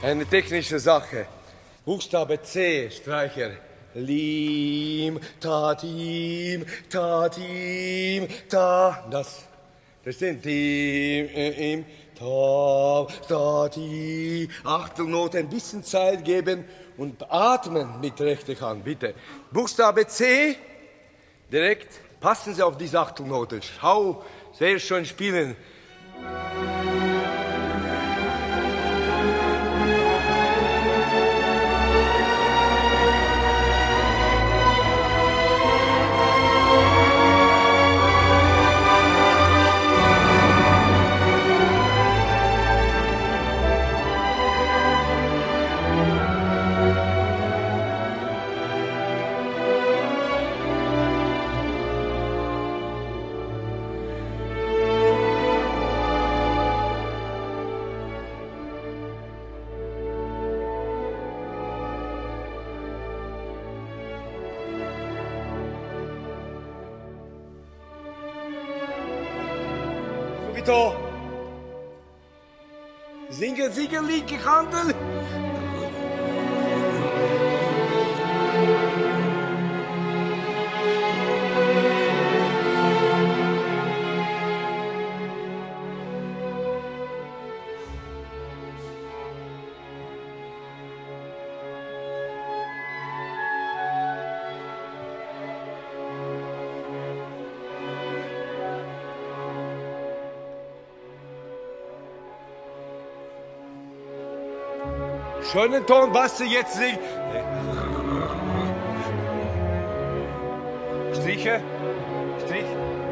Eine technische Sache. Buchstabe C, Streicher. Lim, tatim, tatim, ta. Das. Verstehen? Tim, ta, tati. Achtelnote, ein bisschen Zeit geben und atmen mit rechter Hand, bitte. Buchstabe C, direkt. Passen Sie auf diese Achtelnote. Schau, sehr schön spielen. Subito. Singen, singen, linke Kante. Schönen Ton, was Sie jetzt singen. Striche, Strich.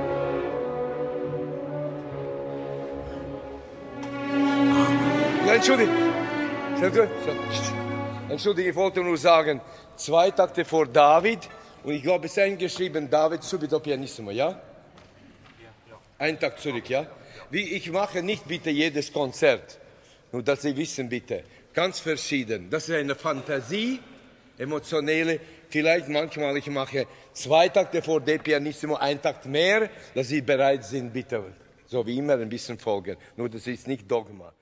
Ja, Entschuldige, ich wollte nur sagen, 2 Takte vor David und ich glaube, es ist eingeschrieben, David subito pianissimo, ja? Ja. Ein Takt zurück, ja? Ich mache nicht bitte jedes Konzert, nur dass Sie wissen bitte. Ganz verschieden. Das ist eine Fantasie, emotionelle. Vielleicht manchmal, ich mache 2 Takte vor De Pianissimo, 1 Takt mehr, dass Sie bereit sind, bitte, so wie immer, ein bisschen folgen. Nur das ist nicht Dogma.